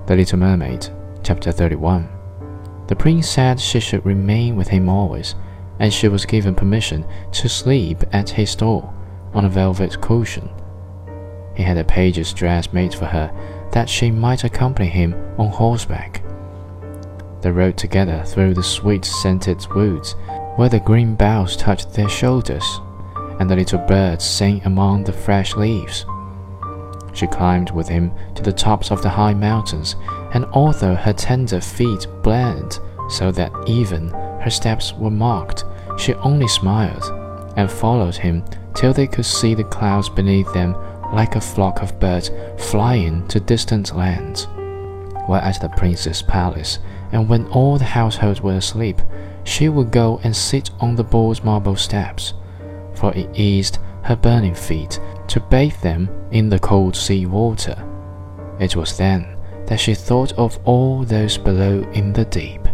The Little Mermaid, Chapter 31. The prince said she should remain with him always, and she was given permission to sleep at his door on a velvet cushion. He had a page's dress made for her, that she might accompany him on horseback. They rode together through the sweet-scented woods, where the green boughs touched their shoulders, and the little birds sang among the fresh leaves. She climbed with him to the tops of the high mountains, and although her tender feet bled so that even her steps were marked, she only smiled, and followed him till they could see the clouds beneath them like a flock of birds flying to distant lands. While at the prince's palace, and when all the household were asleep, she would go and sit on the bold marble steps, for it eased her burning feet to bathe them in the cold sea water. It was then that she thought of all those below in the deep.